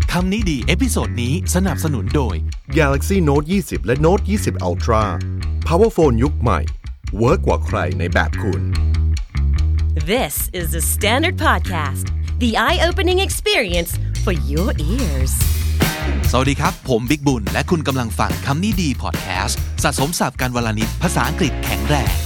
คำนี้ดีเอพิโซดนี้สนับสนุนโดย Galaxy Note 20 และ Note 20 Ultra Power Phone ยุคใหม่เวิร์กกว่าใครในแบบคุณ This is the Standard Podcast, the eye-opening experience for your ears. สวัสดีครับผมบิ๊กบุญและคุณกำลังฟังคำนี้ดีพอดแคสต์สะสมศัพท์กันวลนิดภาษาอังกฤษแข็งแรง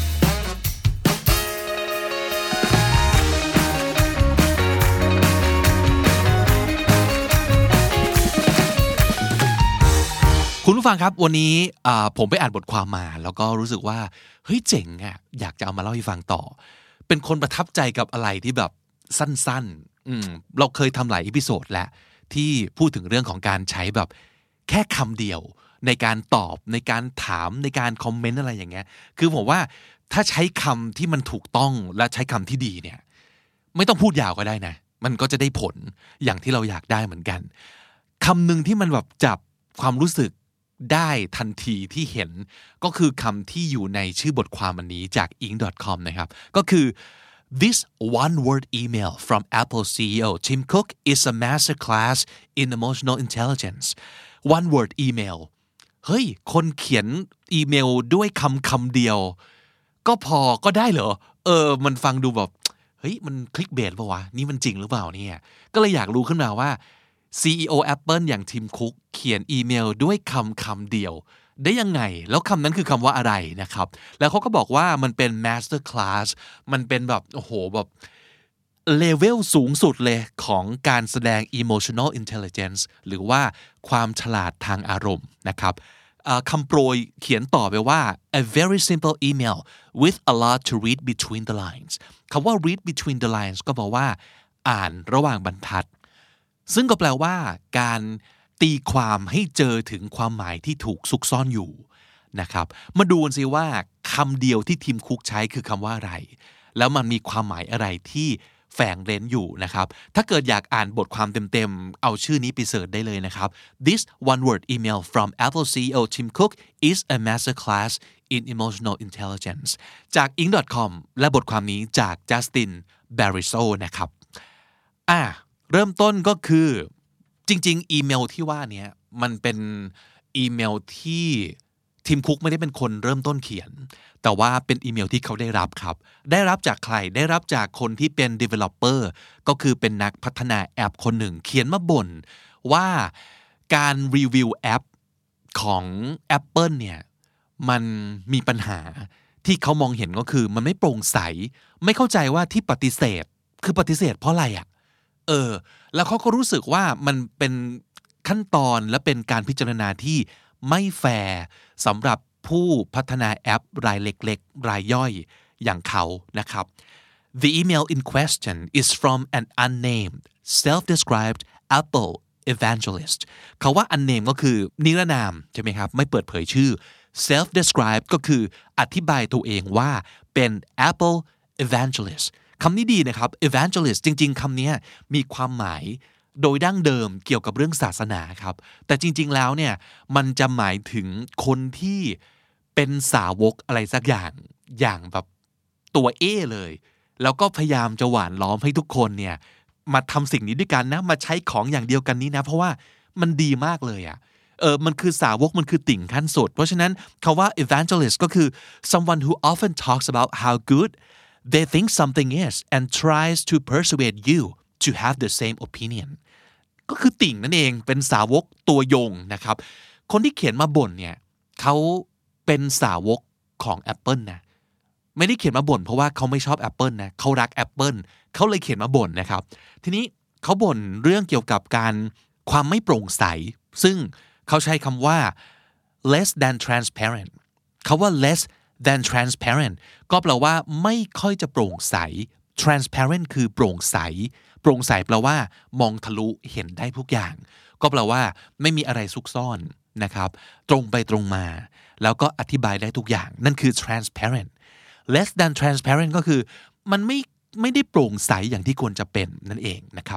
คุณผู้ฟังครับวันนี้ผมไปอ่านบทความมาแล้วก็รู้สึกว่าเฮ้ยเจ๋งอ่ะอยากจะเอามาเล่าให้ฟังต่อเป็นคนประทับใจกับอะไรที่แบบสั้นๆเราเคยทำหลายอีพิโซดแล้วที่พูดถึงเรื่องของการใช้แบบแค่คำเดียวในการตอบในการถามในการคอมเมนต์อะไรอย่างเงี้ยคือผมว่าถ้าใช้คำที่มันถูกต้องและใช้คำที่ดีเนี่ยไม่ต้องพูดยาวก็ได้นะมันก็จะได้ผลอย่างที่เราอยากได้เหมือนกันคำหนึ่งที่มันแบบจับความรู้สึกได้ทันทีที่เห็นก็คือคำที่อยู่ในชื่อบทความอันนี้จาก ink.com นะครับก็คือ This one-word email from Apple CEO Tim Cook is a masterclass in emotional intelligence one-word email เฮ้ยคนเขียนอีเมลด้วยคำเดียวก็พอก็ได้เหรอมันฟังดูแบบเฮ้ยมันคลิกเบสป่ะวะนี่มันจริงหรือเปล่าเนี่ยก็เลยอยากรู้ขึ้นมาว่าCEO Apple อย่าง Tim Cook เขียนอีเมลด้วยคำเดียวได้ยังไงแล้วคำนั้นคือคำว่าอะไรนะครับแล้วเขาก็บอกว่ามันเป็น Master Class มันเป็นแบบโอ้โหแบบเลเวลสูงสุดเลยของการแสดง Emotional Intelligence หรือว่าความฉลาดทางอารมณ์นะครับคำโปรยเขียนต่อไปว่า a very simple email with a lot to read between the lines คำว่า read between the lines ก็บอกว่าอ่านระหว่างบรรทัดซึ่งก็แปลว่าการตีความให้เจอถึงความหมายที่ถูกซุกซ่อนอยู่นะครับมาดูกันสิว่าคำเดียวที่ทีมคุกใช้คือคำว่าอะไรแล้วมันมีความหมายอะไรที่แฝงเร้นอยู่นะครับถ้าเกิดอยากอ่านบทความเต็มๆเอาชื่อนี้ไปเสิร์ชได้เลยนะครับ This one-word email from Apple CEO Tim Cook is a masterclass in emotional intelligence จาก ink.com และบทความนี้จาก Justin Bariso นะครับเริ่มต้นก็คือจริงๆอีเมลที่ว่านี้มันเป็นอีเมลที่ทีมคุกไม่ได้เป็นคนเริ่มต้นเขียนแต่ว่าเป็นอีเมลที่เขาได้รับครับได้รับจากใครได้รับจากคนที่เป็น developer ก็คือเป็นนักพัฒนาแอปคนหนึ่งเขียนมาบ่นว่าการรีวิวแอปของ Apple เนี่ยมันมีปัญหาที่เขามองเห็นก็คือมันไม่โปร่งใสไม่เข้าใจว่าที่ปฏิเสธคือปฏิเสธเพราะอะไรแล้วเขาก็รู้สึกว่ามันเป็นขั้นตอนและเป็นการพิจารณาที่ไม่แฟร์สำหรับผู้พัฒนาแอปรายเล็กๆรายย่อยอย่างเขานะครับ The email in question is from an unnamed self-described Apple evangelist คำว่า unnamed ก็คือนิรนามใช่ไหมครับไม่เปิดเผยชื่อ self-described ก็คืออธิบายตัวเองว่าเป็น Apple evangelistคำนี้ดีนะครับ evangelist จริงๆคำนี้มีความหมายโดยดั้งเดิมเกี่ยวกับเรื่องศาสนาครับแต่จริงๆแล้วเนี่ยมันจะหมายถึงคนที่เป็นสาวกอะไรสักอย่างแบบตัวเลยแล้วก็พยายามจะหว่านล้อมให้ทุกคนเนี่ยมาทำสิ่งนี้ด้วยกันนะมาใช้ของอย่างเดียวกันนี้นะเพราะว่ามันดีมากเลยมันคือสาวกมันคือติ่งขั้นสุดเพราะฉะนั้นคำว่า evangelist ก็คือ someone who often talks about how good they think something is and tries to persuade you to have the same opinion ก็คือติ่งนั่นเองเป็นสาวกตัวยงนะครับคนที่เขียนมาบ่นเนี่ยเขาเป็นสาวกของ Apple นะไม่ได้เขียนมาบ่นเพราะว่าเขาไม่ชอบ Apple นะเขารัก Apple เขาเลยเขียนมาบ่นนะครับทีนี้เขาบ่นเรื่องเกี่ยวกับการความไม่โปร่งใสซึ่งเขาใช้คำว่า less than transparent เขาว่า less than transparent ก็แปลว่าไม่ค่อยจะโปร่งใส transparent คือโปร่งใสโปร่งใสแปลว่ามองทะลุเห็นได้ทุกอย่างก็แปลว่าไม่มีอะไรซุกซ่อนนะครับตรงไปตรงมาแล้วก็อธิบายได้ทุกอย่างนั่นคือ transparent less than transparent ก็คือมันไม่ได้โปร่งใสอย่างที่ควรจะเป็นนั่นเองนะครับ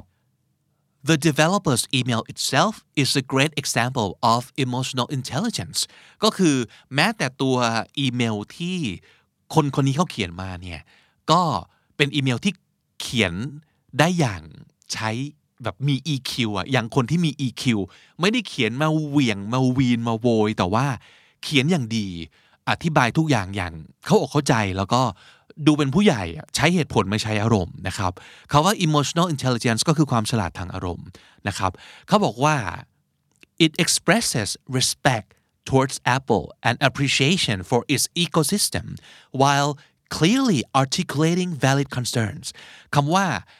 The developer's email itself is a great example of emotional intelligence ก็คือแม้แต่ตัวอีเมลที่คนนี้เขาเขียนมาเนี่ยก็เป็นอีเมลที่เขียนได้อย่างใช้แบบมี EQ อ่ะอย่างคนที่มี EQ ไม่ได้เขียนมาเหวี่ยงมาวีนมาโวยแต่ว่าเขียนอย่างดีอธิบายทุกอย่างอย่างเข้าอกเข้าใจแล้วก็ดูเป็นผู้ใหญ่ใช้เหตุผลไม่ใช้อารมณ์นะครับเขาว่า emotional intelligence ก็คือความฉลาดทางอารมณ์นะครับเขาบอกว่า it expresses respect towards Apple and appreciation for its ecosystem while clearly articulating valid concerns คำว่า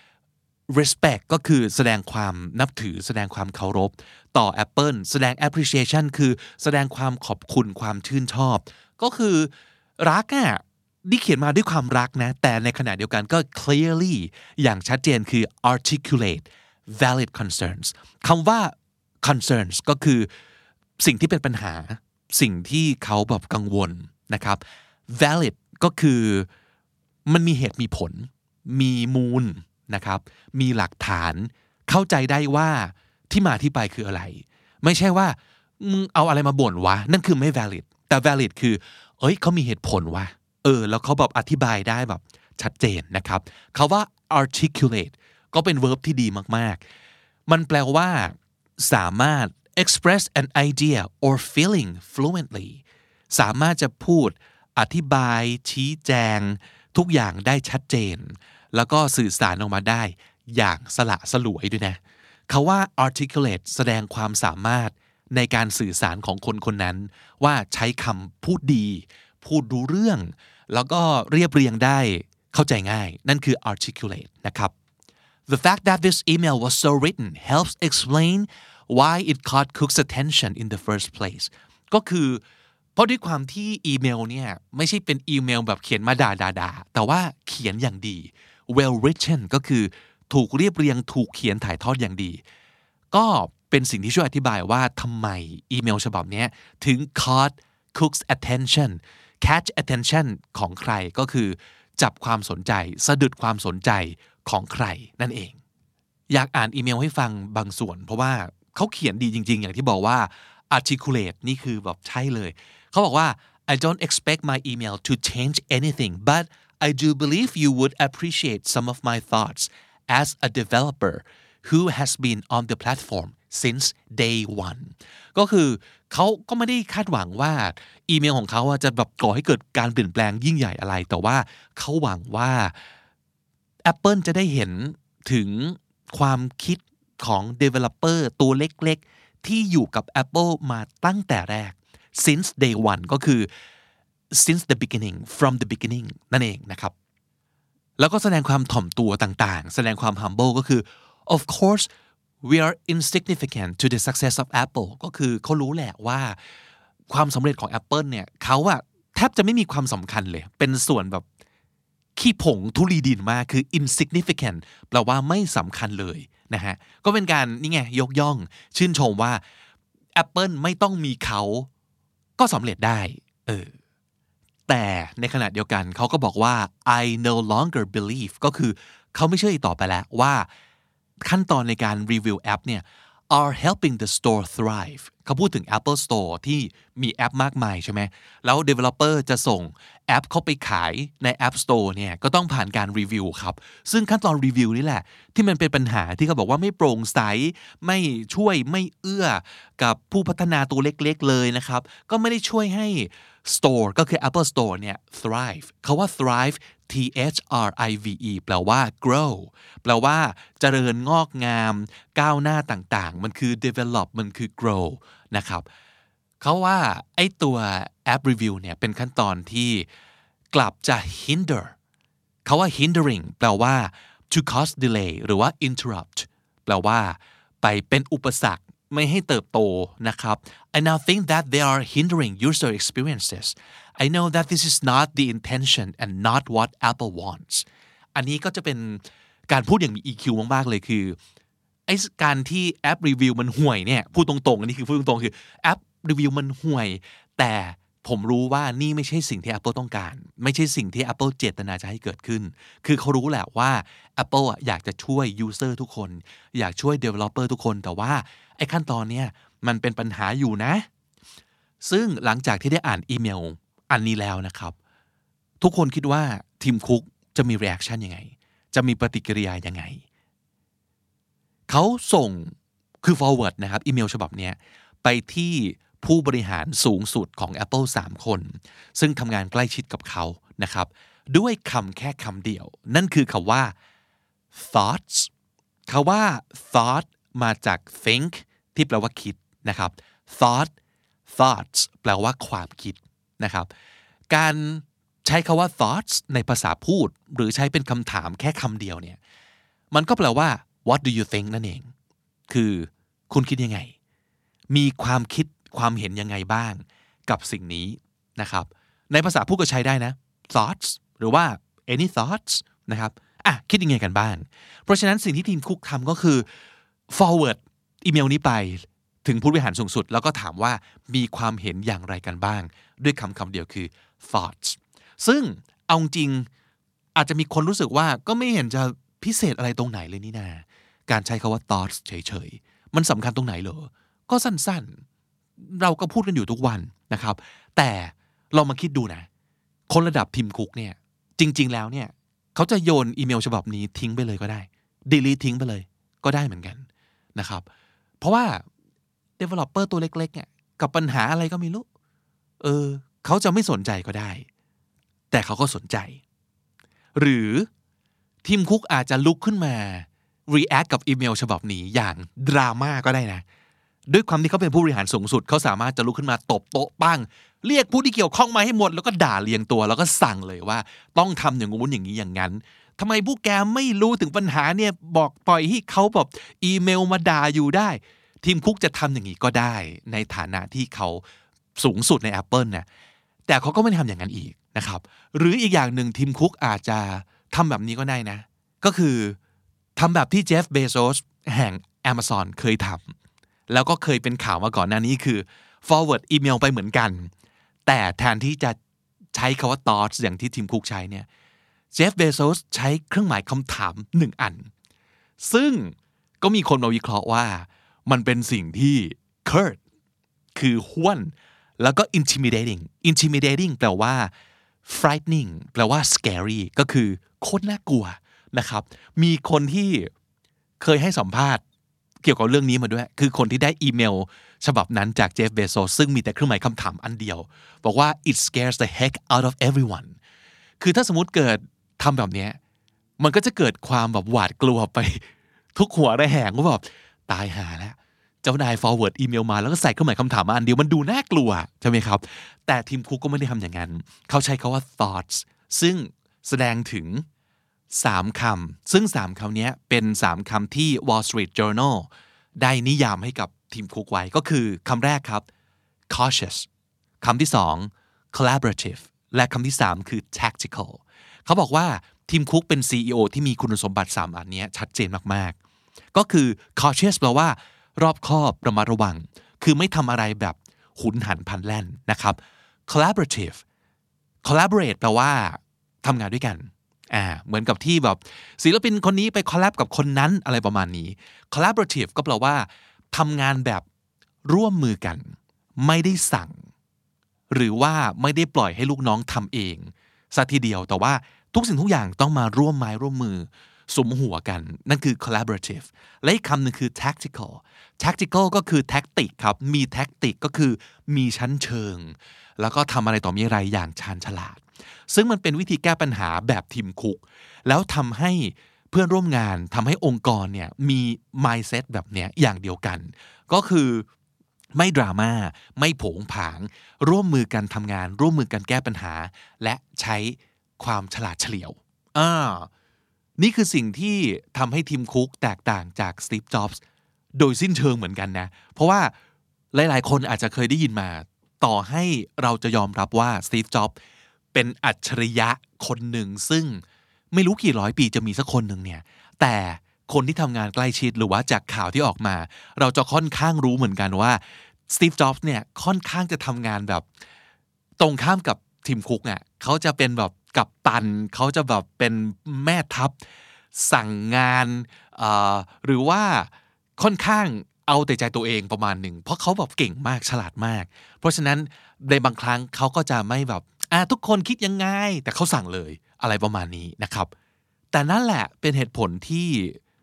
respect ก็คือแสดงความนับถือแสดงความเคารพต่อ Apple แสดง appreciation คือแสดงความขอบคุณความชื่นชอบก็คือรักอ่ะนี่เขียนมาด้วยความรักนะแต่ในขณะเดียวกันก็ clearly อย่างชัดเจนคือ articulate valid concerns คำว่า concerns ก็คือสิ่งที่เป็นปัญหาสิ่งที่เขาแบบกังวลนะครับ valid ก็คือมันมีเหตุมีผลมีมูลนะครับมีหลักฐานเข้าใจได้ว่าที่มาที่ไปคืออะไรไม่ใช่ว่ามึงเอาอะไรมาบ่นวะนั่นคือไม่ valid แต่ valid คือเขามีเหตุผลวะแล้วเขาแบบอธิบายได้แบบชัดเจนนะครับคำว่า articulate ก็เป็น verb ที่ดีมากๆมันแปลว่าสามารถ express an idea or feeling fluently สามารถจะพูดอธิบายชี้แจงทุกอย่างได้ชัดเจนแล้วก็สื่อสารออกมาได้อย่างสละสลวยด้วยนะคำว่า articulate แสดงความสามารถในการสื่อสารของคนคนนั้นว่าใช้คำพูดดีพูดรู้เรื่องแล้วก็เรียบเรียงได้เข้าใจง่ายนั่นคือ articulate นะครับ The fact that this email was so written helps explain why it caught Cook's attention in the first place ก็คือเพราะด้วยความที่อีเมลเนี่ยไม่ใช่เป็นอีเมลแบบเขียนมาด่าแต่ว่าเขียนอย่างดี well written ก็คือถูกเรียบเรียงถูกเขียนถ่ายทอดอย่างดีก็เป็นสิ่งที่ช่วยอธิบายว่าทำไมอีเมลฉบับนี้ถึง caught Cook's attention catch attention ของใครก็คือจับความสนใจสะดุดความสนใจของใครนั่นเองอยากอ่านอีเมลให้ฟังบางส่วนเพราะว่าเขาเขียนดีจริงๆอย่างที่บอกว่า articulate นี่คือแบบใช่เลยเขาบอกว่า I don't expect my email to change anything but I do believe you would appreciate some of my thoughts as a developer who has been on the platform since day one ก็คือเขาก็ไม่ได้คาดหวังว่าอีเมลของเขาจะแบบก่อให้เกิดการเปลี่ยนแปลงยิ่งใหญ่อะไรแต่ว่าเขาหวังว่า Apple จะได้เห็นถึงความคิดของ developer ตัวเล็กๆที่อยู่กับ Apple มาตั้งแต่แรก since day one ก็คือ since the beginning from the beginning นั่นเองนะครับแล้วก็แสดงความถ่อมตัวต่างๆแสดงความ humble ก็คือ of course we are insignificant to the success of Apple ก็คือเขารู้แหละว่าความสำเร็จของ Apple เนี่ยเขาแทบจะไม่มีความสำคัญเลยเป็นส่วนแบบขี้ผงธุลีดินมากคือ insignificant แปลว่าไม่สำคัญเลยนะฮะก็เป็นการนี่ไงยกย่องชื่นชมว่า Apple ไม่ต้องมีเขาก็สำเร็จได้แต่ในขณะเดียวกันเขาก็บอกว่า I no longer believe ก็คือเขาไม่เชื่ออีกต่อไปแล้วว่าขั้นตอนในการรีวิวแอปเนี่ย are helping the store thrive เขาพูดถึง Apple Store ที่มีแอปมากมายใช่ไหมแล้ว developer จะส่งแอปเข้าไปขายใน App Store เนี่ยก็ต้องผ่านการรีวิวครับซึ่งขั้นตอนรีวิวนี่แหละที่มันเป็นปัญหาที่เขาบอกว่าไม่โปร่งใสไม่ช่วยไม่เอื้อกับผู้พัฒนาตัวเล็กๆเลยนะครับก็ไม่ได้ช่วยให้ Store ก็คือ Apple Store เนี่ย thrive เขาว่า thrive thrive แปลว่า grow แปลว่าเจริญงอกงามก้าวหน้าต่างๆมันคือ develop มันคือ grow นะครับเขาว่าไอ้ตัวแอปรีวิวเนี่ยเป็นขั้นตอนที่กลับจะ hinder เขาว่า hindering แปลว่า to cause delay หรือว่า interrupt แปลว่าไปเป็นอุปสรรคไม่ให้เติบโตนะครับ I now think that they are hindering user experiences I know that this is not the intention and not what Apple wants อันนี้ก็จะเป็นการพูดอย่างมี EQ มากๆเลยคือไอ้การที่แอปรีวิวมันห่วยเนี่ยพูดตรงๆอันนี้คือพูดตรงๆคือแอปรีวิวมันห่วยแต่ผมรู้ว่านี่ไม่ใช่สิ่งที่ Apple ต้องการไม่ใช่สิ่งที่ Apple เจตนาจะให้เกิดขึ้นคือเขารู้แหละว่า Apple อยากจะช่วย user ทุกคนอยากช่วย developer ทุกคนแต่ว่าไอ้ขั้นตอนเนี้ยมันเป็นปัญหาอยู่นะซึ่งหลังจากที่ได้อ่านอีเมลอันนี้แล้วนะครับทุกคนคิดว่าทีมคุกจะมี reaction ยังไงจะมีปฏิกิริยายังไงเขาส่งคือ forward นะครับอีเมลฉบับนี้ไปที่ผู้บริหารสูงสุดของ Apple 3 คนซึ่งทำงานใกล้ชิดกับเขานะครับด้วยคำแค่คำเดียวนั่นคือคำว่า thoughts คำว่า thought มาจาก think ที่แปลว่าคิดนะครับ thoughts แปลว่าความคิดนะครับการใช้คำว่า thoughts ในภาษาพูดหรือใช้เป็นคำถามแค่คำเดียวเนี่ยมันก็แปลว่า what do you think นั่นเองคือคุณคิดยังไงมีความคิดความเห็นยังไงบ้างกับสิ่งนี้นะครับในภาษาพูดก็ใช้ได้นะ thoughts หรือว่า any thoughts นะครับคิดยังไงกันบ้างเพราะฉะนั้นสิ่งที่ทีมคุกทำก็คือ forward อีเมลนี้ไปถึงผู้บริหารสูงสุดแล้วก็ถามว่ามีความเห็นอย่างไรกันบ้างด้วยคำเดียวคือ thoughts ซึ่งเอาจริงอาจจะมีคนรู้สึกว่าก็ไม่เห็นจะพิเศษอะไรตรงไหนเลยนี่นาการใช้คำว่า thoughts เฉยๆมันสำคัญตรงไหนเหรอก็สั้นๆเราก็พูดกันอยู่ทุกวันนะครับแต่เรามาคิดดูนะคนระดับทีมคุกเนี่ยจริงๆแล้วเนี่ยเขาจะโยนอีเมลฉบับนี้ทิ้งไปเลยก็ได้ delete ทิ้งไปเลยก็ได้เหมือนกันนะครับเพราะว่า developer ตัวเล็กๆเนี่ยกับปัญหาอะไรก็ไม่รู้เขาจะไม่สนใจก็ได้แต่เขาก็สนใจหรือทีมคุกอาจจะลุกขึ้นมา react กับอีเมลฉบับนี้อย่างดราม่าก็ได้นะด้วยความที่เขาเป็นผู้บริหารสูงสุดเขาสามารถจะลุกขึ้นมาตบโต๊ะปั้งเรียกผู้ที่เกี่ยวข้องมาให้หมดแล้วก็ด่าเรียงตัวแล้วก็สั่งเลยว่าต้องทำอย่างงู้นอย่างนี้อย่างนั้นทำไมพวกแกไม่รู้ถึงปัญหาเนี่ยบอกปล่อยให้เขาแบบอีเมลมาด่าอยู่ได้ทีมคุกจะทำอย่างนี้ก็ได้ในฐานะที่เขาสูงสุดใน Apple นะแต่เขาก็ไม่ทำอย่างนั้นอีกนะครับหรืออีกอย่างหนึ่งทีมคุกอาจจะทำแบบนี้ก็ได้นะก็คือทำแบบที่เจฟเบโซสแห่ง Amazon เคยทำแล้วก็เคยเป็นข่าวมาก่อนหน้านี้คือ forward อีเมลไปเหมือนกันแต่แทนที่จะใช้คำว่า thoughts อย่างที่ทีมคุกใช้เนี่ยเจฟเบโซสใช้เครื่องหมายคำถาม1อันซึ่งก็มีคนมาวิเคราะห์ว่ามันเป็นสิ่งที่ curt คือห้วนแล้วก็ intimidating แปลว่า frightening แปลว่า scary ก็คือโคตรน่ากลัวนะครับมีคนที่เคยให้สัมภาษณ์เกี่ยวกับเรื่องนี้มาด้วยคือคนที่ได้อีเมลฉบับนั้นจากเจฟเบโซสซึ่งมีแต่เครื่องหมายคำถามอันเดียวบอกว่า it scares the heck out of everyone คือถ้าสมมุติเกิดทำแบบนี้มันก็จะเกิดความแบบหวาดกลัวไปทุกหัวระแหงว่าแบบตายหาแล้วเจ้านาย forward อีเมลมาแล้วก็ใส่เครื่องหมายคำถามมาอันเดียวมันดูน่ากลัวใช่ไหมครับแต่ทีมคุกก็ไม่ได้ทำอย่างนั้นเขาใช้คำว่า thoughts ซึ่งแสดงถึง3 คำซึ่ง3 คำนี้เป็น3 คำที่ Wall Street Journal ได้นิยามให้กับทีมคุกไว้ก็คือคำแรกครับ cautious คำที่2 collaborative และคำที่3คือ tactical เขาบอกว่าทีมคุกเป็น CEO ที่มีคุณสมบัติ3อันนี้ชัดเจนมากๆก็คือ cautious แปลว่ารอบคอบระมัดระวังคือไม่ทำอะไรแบบหุนหันพลันแล่นนะครับ collaborative collaborate แปลว่าทำงานด้วยกันเหมือนกับที่แบบศิลปินคนนี้ไปคอลแลบกับคนนั้นอะไรประมาณนี้ collaborative ก็แปลว่าทำงานแบบร่วมมือกันไม่ได้สั่งหรือว่าไม่ได้ปล่อยให้ลูกน้องทำเองซะทีเดียวแต่ว่าทุกสิ่งทุกอย่างต้องมาร่วมไม้ร่วมมือสมหัวกันนั่นคือ collaborative และอีกคำหนึ่งคือ tactical ก็คือแท็กติกครับมีแท็กติกก็คือมีชั้นเชิงแล้วก็ทำอะไรต่อมีอะไรอย่างชาญฉลาดซึ่งมันเป็นวิธีแก้ปัญหาแบบทีมคุกแล้วทำให้เพื่อนร่วมงานทำให้องค์กรเนี่ยมี mindset แบบเนี้ยอย่างเดียวกันก็คือไม่ดราม่าไม่โผงผางร่วมมือกันทำงานร่วมมือกันแก้ปัญหาและใช้ความฉลาดเฉลียวนี่คือสิ่งที่ทำให้ทีมคุกแตกต่างจากสตีฟ จ็อบส์โดยสิ้นเชิงเหมือนกันนะเพราะว่าหลายๆคนอาจจะเคยได้ยินมาต่อให้เราจะยอมรับว่าสตีฟ จ็อบส์เป็นอัจฉริยะคนหนึ่งซึ่งไม่รู้กี่ร้อยปีจะมีสักคนหนึ่งเนี่ยแต่คนที่ทำงานใกล้ชิดหรือว่าจากข่าวที่ออกมาเราจะค่อนข้างรู้เหมือนกันว่าสตีฟ จ็อบส์เนี่ยค่อนข้างจะทำงานแบบตรงข้ามกับทีมคุกอ่ะเขาจะเป็นแบบกัปตันเขาจะแบบเป็นแม่ทัพสั่งงานหรือว่าค่อนข้างเอาแต่ใจตัวเองประมาณหนึ่งเพราะเขาแบบเก่งมากฉลาดมากเพราะฉะนั้นในบางครั้งเขาก็จะไม่แบบทุกคนคิดยังไงแต่เขาสั่งเลยอะไรประมาณนี้นะครับแต่นั่นแหละเป็นเหตุผลที่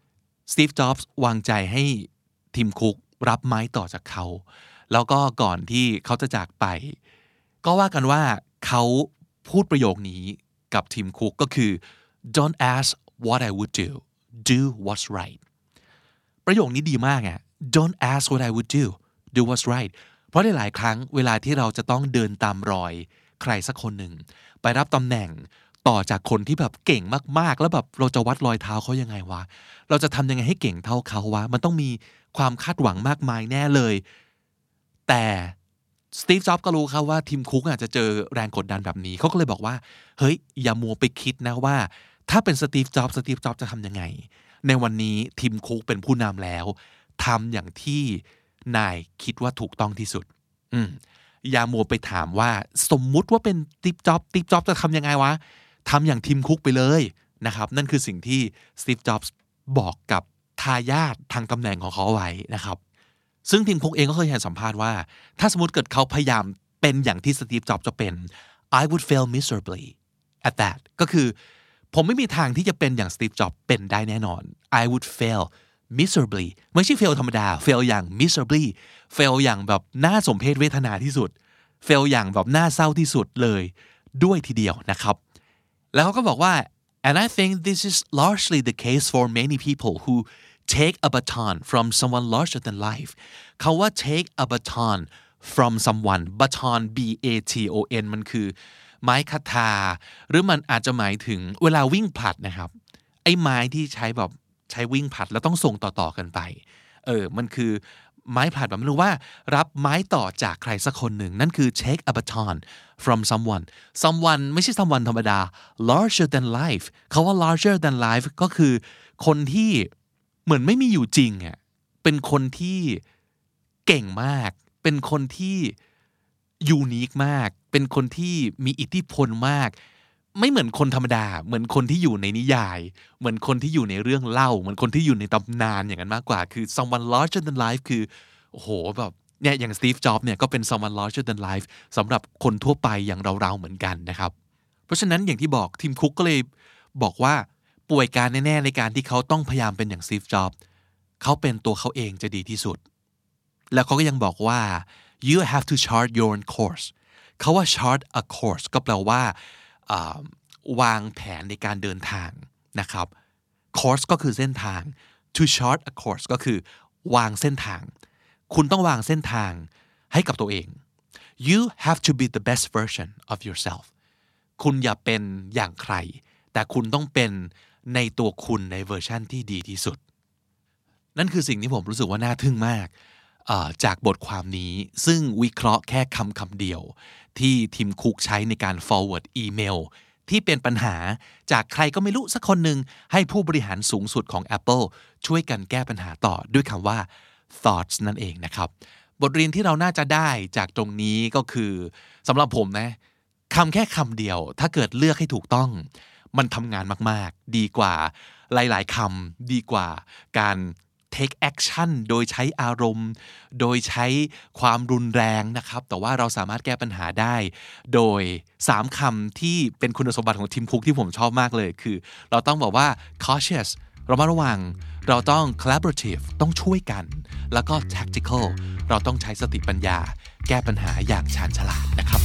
สตีฟ จ็อบส์วางใจให้ทีมคุกรับไม้ต่อจากเขาแล้วก็ก่อนที่เขาจะจากไปก็ว่ากันว่าเขาพูดประโยคนี้กับทีมคุกก็คือ don't ask what I would do what's right ประโยคนี้ดีมากอ่ะ don't ask what I would do what's right เพราะหลายๆครั้งเวลาที่เราจะต้องเดินตามรอยใครสักคนหนึ่งไปรับตำแหน่งต่อจากคนที่แบบเก่งมากๆแล้วแบบเราจะวัดรอยเท้าเขายังไงวะเราจะทำยังไงให้เก่งเท่าเขาวะมันต้องมีความคาดหวังมากมายแน่เลยแต่สตีฟ จ็อบส์ก็รู้ครับว่าทีมคุกอาจจะเจอแรงกดดันแบบนี้เขาก็เลยบอกว่าเฮ้ยอย่ามัวไปคิดนะว่าถ้าเป็นสตีฟ จ็อบส์จะทำยังไงในวันนี้ทีมคุกเป็นผู้นำแล้วทำอย่างที่นายคิดว่าถูกต้องที่สุดอย่ามัวไปถามว่าสมมุติว่าเป็นสตีฟ จ็อบส์จะทำยังไงวะทำอย่างทีมคุกไปเลยนะครับนั่นคือสิ่งที่สตีฟ จ็อบส์บอกกับทายาททางตำแหน่งของเขาไว้นะครับซึ่งทีมคุกเองก็เคยให้สัมภาษณ์ว่าถ้าสมมติเกิดเขาพยายามเป็นอย่างที่สตีฟ จ็อบส์จะเป็น I would fail miserably at that ก็คือผมไม่มีทางที่จะเป็นอย่างสตีฟ จ็อบส์เป็นได้แน่นอน I would fail miserably ไม่ใช่ fail ธรรมดา fail อย่าง miserably fail อย่างแบบน่าสมเพชเวทนาที่สุด fail อย่างแบบน่าเศร้าที่สุดเลยด้วยทีเดียวนะครับแล้วเขาก็บอกว่า and I think this is largely the case for many people who take a baton from someone larger than life เขาว่า take a baton from someone baton B-A-T-O-N มันคือไม้คทาหรือมันอาจจะหมายถึงเวลาวิ่งผลัดนะครับไอ้ไม้ที่ใช้แบบใช้วิ่งผลัดแล้วต้องส่งต่อๆกันไปมันคือไม้ผลัดแบบไม่รู้ว่ารับไม้ต่อจากใครสักคนหนึ่งนั่นคือ take a baton from someone ไม่ใช่ someone ธรรมดา larger than life เขาว่า larger than life ก็คือคนที่เหมือนไม่มีอยู่จริงอ่ะเป็นคนที่เก่งมากเป็นคนที่ยูนิคมากเป็นคนที่มีอิทธิพลมากไม่เหมือนคนธรรมดาเหมือนคนที่อยู่ในนิยายเหมือนคนที่อยู่ในเรื่องเล่าเหมือนคนที่อยู่ในตำนานอย่างนั้นมากกว่าคือ someone larger than life คือโอ้โหแบบเนี่ยอย่างสตีฟ จ็อบส์เนี่ยก็เป็น someone larger than life สำหรับคนทั่วไปอย่างเราๆเหมือนกันนะครับเพราะฉะนั้นอย่างที่บอกทีมคุกก็เลยบอกว่าป่วยการแน่ๆในการที่เขาต้องพยายามเป็นอย่างสตีฟ จ็อบส์เขาเป็นตัวเขาเองจะดีที่สุดแล้วเขาก็ยังบอกว่า you have to chart your own course เขาว่า chart a course ก็แปลว่าวางแผนในการเดินทางนะครับ course ก็คือเส้นทาง to chart a course ก็คือวางเส้นทางคุณต้องวางเส้นทางให้กับตัวเอง you have to be the best version of yourself คุณอย่าเป็นอย่างใครแต่คุณต้องเป็นในตัวคุณในเวอร์ชั่นที่ดีที่สุดนั่นคือสิ่งที่ผมรู้สึกว่าน่าทึ่งมากจากบทความนี้ซึ่งวิเคราะห์แค่คำเดียวที่ทีมคุกใช้ในการ forward อีเมลที่เป็นปัญหาจากใครก็ไม่รู้สักคนหนึ่งให้ผู้บริหารสูงสุดของ Apple ช่วยกันแก้ปัญหาต่อด้วยคำว่า thoughts นั่นเองนะครับบทเรียนที่เราน่าจะได้จากตรงนี้ก็คือสำหรับผมนะแค่คำเดียวถ้าเกิดเลือกให้ถูกต้องมันทำงานมากๆดีกว่าหลายๆคำดีกว่าการ take action โดยใช้อารมณ์โดยใช้ความรุนแรงนะครับแต่ว่าเราสามารถแก้ปัญหาได้โดย3คำที่เป็นคุณสมบัติของทีมคุกที่ผมชอบมากเลยคือเราต้องบอกว่า cautious เรามาระวังเราต้อง collaborative ต้องช่วยกันแล้วก็ tactical เราต้องใช้สติปัญญาแก้ปัญหาอย่างชาญฉลาดนะครับ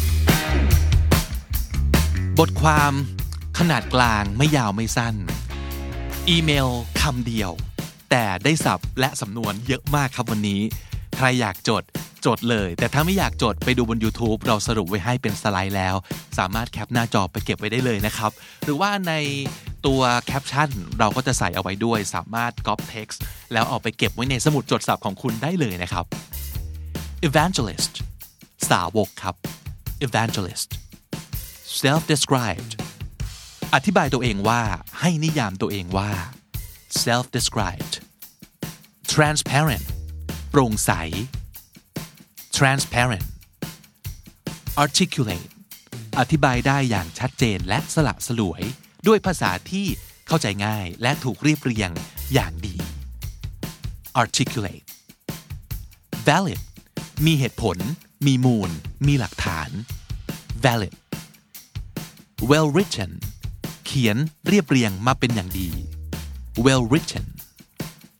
บทความขนาดกลางไม่ยาวไม่สั้นอีเมลคำเดียวแต่ได้ศัพท์และสำนวนเยอะมากครับวันนี้ใครอยากจดเลยแต่ถ้าไม่อยากจดไปดูบน YouTube เราสรุปไว้ให้เป็นสไลด์แล้วสามารถแคปหน้าจอไปเก็บไว้ได้เลยนะครับหรือว่าในตัวแคปชั่นเราก็จะใส่เอาไว้ด้วยสามารถ copy text แล้วเอาไปเก็บไว้ในสมุดจดศัพท์ของคุณได้เลยนะครับ evangelist สาวกครับ evangelist self-described อธิบายตัวเองว่าให้นิยามตัวเองว่า self-described transparent โปร่งใส transparent articulate อธิบายได้อย่างชัดเจนและสละสลวยด้วยภาษาที่เข้าใจง่ายและถูกเรียบเรียงอย่างดี articulate valid มีเหตุผลมีมูลมีหลักฐาน valid well written เขียนเรียบเรียงมาเป็นอย่างดี well written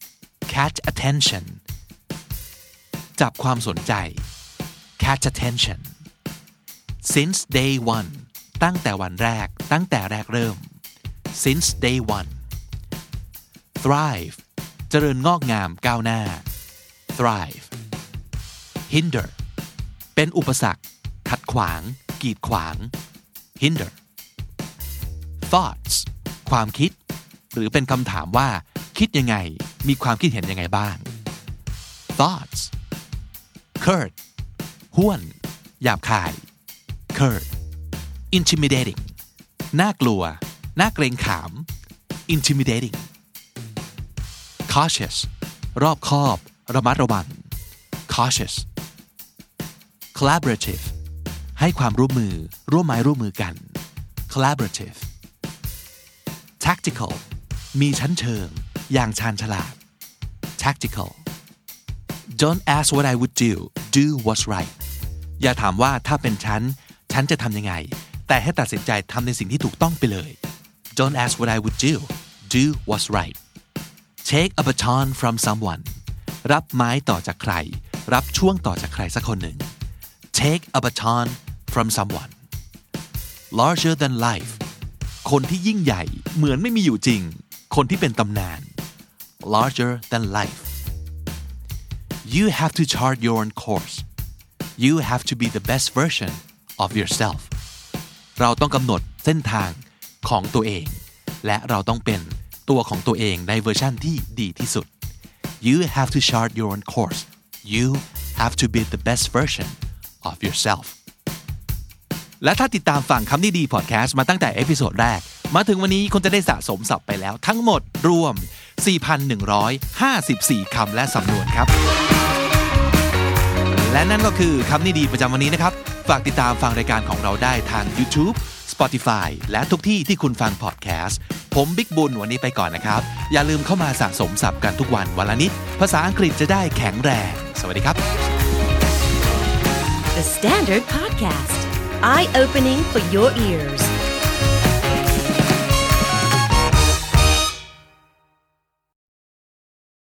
catch attention จับความสนใจ catch attention since day one ตั้งแต่วันแรกตั้งแต่แรกเริ่ม since day one thrive เจริญงอกงามก้าวหน้า thrive hinder เป็นอุปสรรคขัดขวางกีดขวาง hinder thoughts ความคิดหรือเป็นคำถามว่าคิดยังไงมีความคิดเห็นยังไงบ้าง thoughts curt ห้วนหยาบคาย curt intimidating น่ากลัวน่าเกรงขาม intimidating cautious รอบคอบระมัดระวัง cautious collaborative ให้ความร่วมมือร่วมไม้ร่วมมือกัน collaborative tactical มีชั้นเชิงอย่างชาญฉลาด tactical don't ask what I would do what's right อย่าถามว่าถ้าเป็นฉันจะทำยังไงแต่ให้ตัดสินใจทำในสิ่งที่ถูกต้องไปเลย don't ask what I would do what's right take a baton from someone รับไม้ต่อจากใครรับช่วงต่อจากใครสักคนหนึ่ง take a baton from someone larger than life คนที่ยิ่งใหญ่เหมือนไม่มีอยู่จริงคนที่เป็นตำนาน larger than life you have to chart your own course you have to be the best version of yourself เราต้องกำหนดเส้นทางของตัวเองและเราต้องเป็นตัวของตัวเองในเวอร์ชันที่ดีที่สุด you have to chart your own course you have to be the best version of yourself และถ้าติดตามฟังคำนี้ดีพอดแคสต์มาตั้งแต่เอพิโซดแรกมาถึงวันนี้คุณจะได้สะสมศัพท์ไปแล้วทั้งหมดรวม 4,154 คำและสำนวนครับและนั่นก็คือคำนี้ดีประจำวันนี้นะครับฝากติดตามฟังรายการของเราได้ทาง YouTube Spotify และทุกที่ที่คุณฟังพอดแคสต์ผมบิ๊กบุญวันนี้ไปก่อนนะครับอย่าลืมเข้ามาสะสมศัพท์กันทุกวันวันละนิดภาษาอังกฤษจะได้แข็งแรงสวัสดีครับ The Standard Podcast Eye Opening for Your Ears